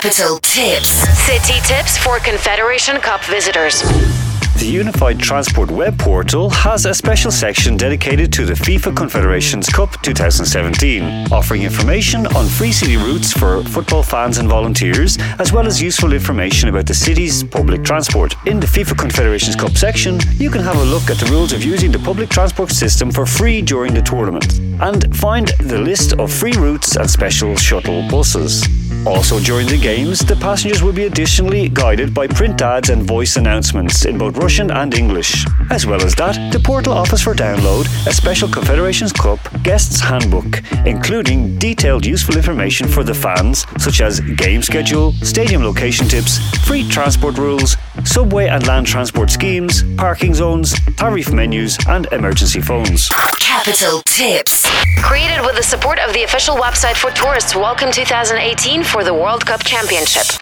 Capital Tips. City tips for Confederation Cup visitors. The Unified Transport web portal has a special section dedicated to the FIFA Confederations Cup 2017, offering information on free city routes for football fans and volunteers, as well as useful information about the city's public transport. In the FIFA Confederations Cup section, you can have a look at the rules of using the public transport system for free during the tournament, and find the list of free routes and special shuttle buses. Also during the games, the passengers will be additionally guided by print ads and voice announcements in both Russian and English. As well as that, the portal offers for download a special Confederations Cup Guests Handbook, including detailed useful information for the fans, such as game schedule, stadium location tips, free transport rules, subway and land transport schemes, parking zones, tariff menus and emergency phones. Capital Tips. Created with the support of the official website for tourists Welcome 2018 for the World Cup Championship.